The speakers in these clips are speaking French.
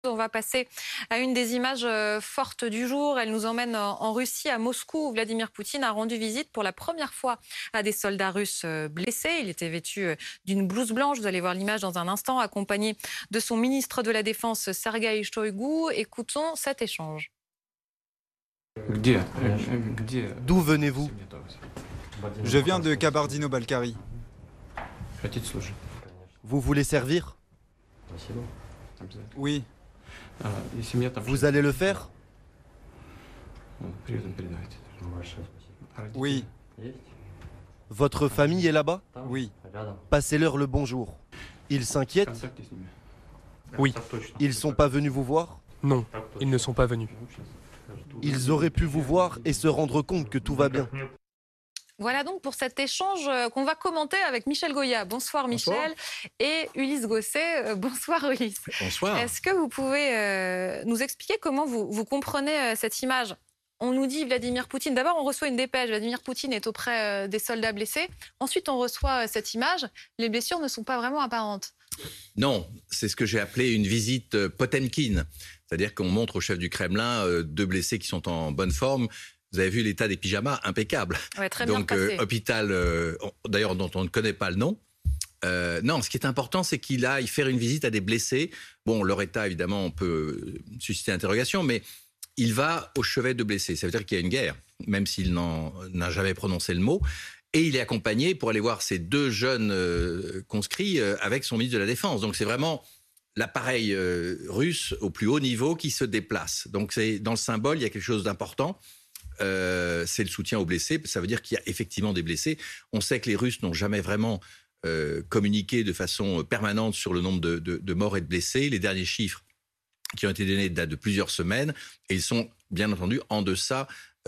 On va passer à une des images fortes du jour. Elle nous emmène en Russie, à Moscou, où Vladimir Poutine a rendu visite pour la première fois à des soldats russes blessés. Il était vêtu d'une blouse blanche. Vous allez voir l'image dans un instant, accompagné de son ministre de la Défense, Sergueï Shoigu. Écoutons cet échange. D'où venez-vous? Je viens de Kabardino-Balkarie. Vous voulez servir? Oui, Vous allez le faire? oui, Votre famille est là-bas? oui. Passez-leur le bonjour. Ils s'inquiètent? Oui. Ils sont pas venus vous voir? Non, ils ne sont pas venus. Ils auraient pu vous voir et se rendre compte que tout va bien. Voilà donc pour cet échange qu'on va commenter avec Michel Goya. Bonsoir Michel. Et Ulysse Gosset. Bonsoir Ulysse. Bonsoir. Est-ce que vous pouvez nous expliquer comment vous comprenez cette image? On nous dit Vladimir Poutine. D'abord, on reçoit une dépêche. Vladimir Poutine est auprès des soldats blessés. Ensuite, on reçoit cette image. Les blessures ne sont pas vraiment apparentes. Non, c'est ce que j'ai appelé une visite Potemkin. C'est-à-dire qu'on montre au chef du Kremlin deux blessés qui sont en bonne forme. Vous avez vu l'état des pyjamas, impeccable. Ouais, très bien Donc, passé. hôpital, d'ailleurs, dont on ne connaît pas le nom. Non, ce qui est important, c'est qu'il aille faire une visite à des blessés. Bon, leur état, évidemment, on peut susciter interrogation, mais il va au chevet de blessés. Ça veut dire qu'il y a une guerre, même s'il n'a jamais prononcé le mot. Et il est accompagné pour aller voir ces deux jeunes conscrits avec son ministre de la Défense. Donc, c'est vraiment l'appareil russe au plus haut niveau qui se déplace. Donc, dans le symbole, il y a quelque chose d'important. C'est le soutien aux blessés. Ça veut dire qu'il y a effectivement des blessés. On sait que les Russes n'ont jamais vraiment communiqué de façon permanente sur le nombre de morts et de blessés. Les derniers chiffres qui ont été donnés datent de plusieurs semaines et ils sont bien entendu en deçà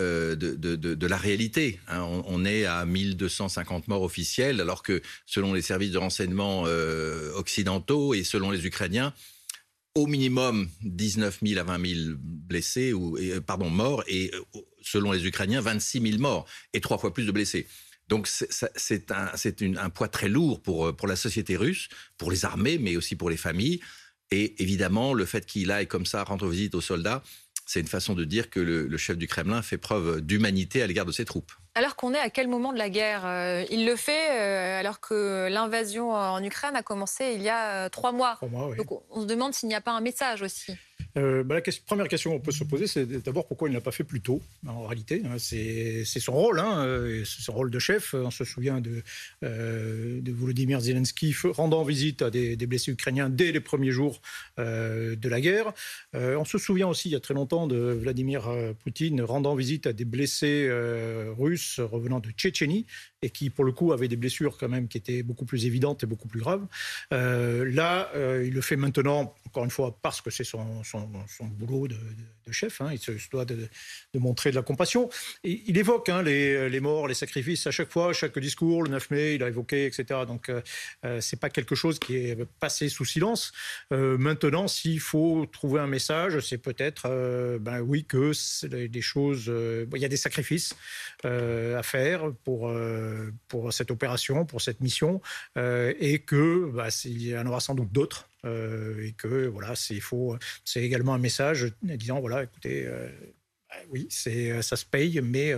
de la réalité. Hein. On est à 1250 morts officiels, alors que selon les services de renseignement occidentaux et selon les Ukrainiens, au minimum 19 000 à 20 000 blessés, morts, et selon les Ukrainiens, 26 000 morts, et 3 fois plus de blessés. Donc c'est un poids très lourd pour la société russe, pour les armées, mais aussi pour les familles. Et évidemment, le fait qu'il aille comme ça rendre visite aux soldats, c'est une façon de dire que le chef du Kremlin fait preuve d'humanité à l'égard de ses troupes. Alors qu'on est à quel moment de la guerre? Il le fait alors que l'invasion en Ukraine a commencé il y a 3 mois. 3 mois, oui. Donc on se demande s'il n'y a pas un message aussi. La première question qu'on peut se poser, c'est d'abord pourquoi il ne l'a pas fait plus tôt. En réalité, c'est son rôle, c'est son rôle de chef. On se souvient de Volodymyr Zelensky rendant visite à des blessés ukrainiens dès les premiers jours de la guerre. On se souvient aussi, il y a très longtemps, de Vladimir Poutine rendant visite à des blessés russes revenant de Tchétchénie et qui, pour le coup, avaient des blessures quand même qui étaient beaucoup plus évidentes et beaucoup plus graves. Il le fait maintenant, encore une fois, parce que c'est son boulot de chef. Il se doit de montrer de la compassion. Et il évoque les morts, les sacrifices à chaque fois, chaque discours. Le 9 mai, il a évoqué, etc. Donc, c'est pas quelque chose qui est passé sous silence. Maintenant, s'il faut trouver un message, c'est peut-être, oui, que c'est des choses... il y a des sacrifices à faire pour cette opération, pour cette mission, et que il y en aura sans doute d'autres. Et que voilà, c'est également un message disant voilà, écoutez, oui, ça se paye, mais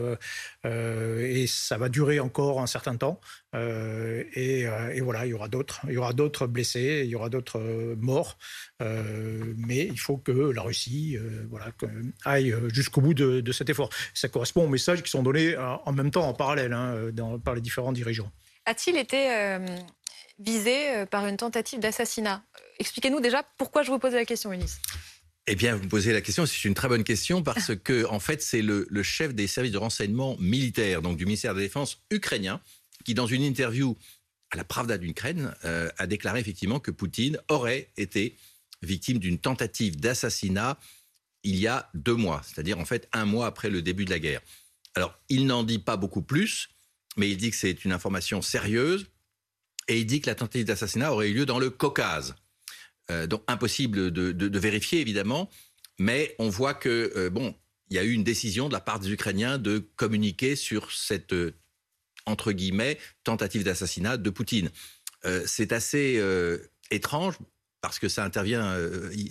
et ça va durer encore un certain temps. Et voilà, il y aura d'autres blessés, il y aura d'autres morts, mais il faut que la Russie aille jusqu'au bout de cet effort. Ça correspond aux messages qui sont donnés en même temps, en parallèle, par les différents dirigeants. A-t-il été visé par une tentative d'assassinat? Expliquez-nous déjà pourquoi je vous pose la question, Ulysse. Eh bien, vous me posez la question, c'est une très bonne question, parce que, en fait, c'est le chef des services de renseignement militaire, donc du ministère de la Défense ukrainien, qui, dans une interview à la Pravda d'Ukraine, a déclaré effectivement que Poutine aurait été victime d'une tentative d'assassinat il y a 2 mois, c'est-à-dire, en fait, 1 mois après le début de la guerre. Alors, il n'en dit pas beaucoup plus, mais il dit que c'est une information sérieuse, et il dit que la tentative d'assassinat aurait eu lieu dans le Caucase. Donc impossible de vérifier évidemment, mais on voit que il y a eu une décision de la part des Ukrainiens de communiquer sur cette entre guillemets tentative d'assassinat de Poutine. C'est assez étrange parce que ça intervient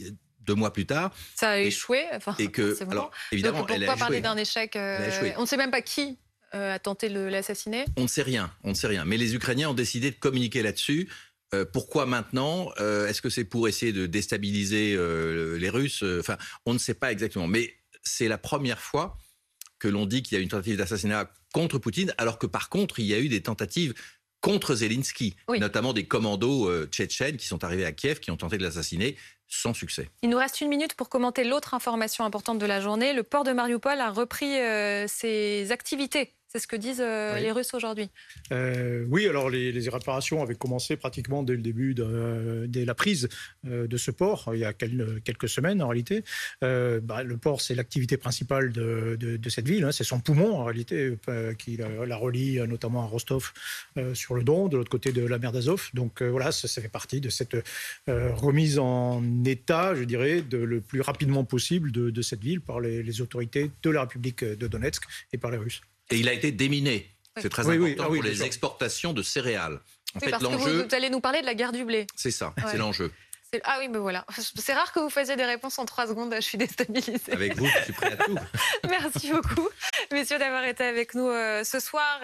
2 mois plus tard. Ça a échoué. Enfin, Et que, alors, évidemment, donc, elle a pourquoi parler échoué. d'un échec a échoué. On ne sait même pas qui a tenté de l'assassiner. On ne sait rien. Mais les Ukrainiens ont décidé de communiquer là-dessus. Pourquoi maintenant? Est-ce que c'est pour essayer de déstabiliser les Russes? Enfin, on ne sait pas exactement. Mais c'est la première fois que l'on dit qu'il y a une tentative d'assassinat contre Poutine, alors que par contre, il y a eu des tentatives contre Zelensky, notamment des commandos tchétchènes qui sont arrivés à Kiev, qui ont tenté de l'assassiner sans succès. Il nous reste 1 minute pour commenter l'autre information importante de la journée. Le port de Mariupol a repris ses activités. C'est ce que disent les Russes aujourd'hui. Oui, alors les réparations avaient commencé pratiquement dès le début, dès la prise de ce port, il y a quelques semaines en réalité. Le port, c'est l'activité principale de cette ville, hein, c'est son poumon en réalité, qui la relie notamment à Rostov sur le Don, de l'autre côté de la mer d'Azov. Donc voilà, ça fait partie de cette remise en état, je dirais, le plus rapidement possible de cette ville par les autorités de la République de Donetsk et par les Russes. Et il a été déminé. C'est très important pour les sûr. exportations de céréales. En fait, parce l'enjeu, que vous allez nous parler de la guerre du blé. c'est ça, c'est l'enjeu. Ah oui, mais voilà. C'est rare que vous fassiez des réponses en 3 secondes. Je suis déstabilisée. Avec vous, je suis prêt à tout. Merci beaucoup, messieurs, d'avoir été avec nous ce soir.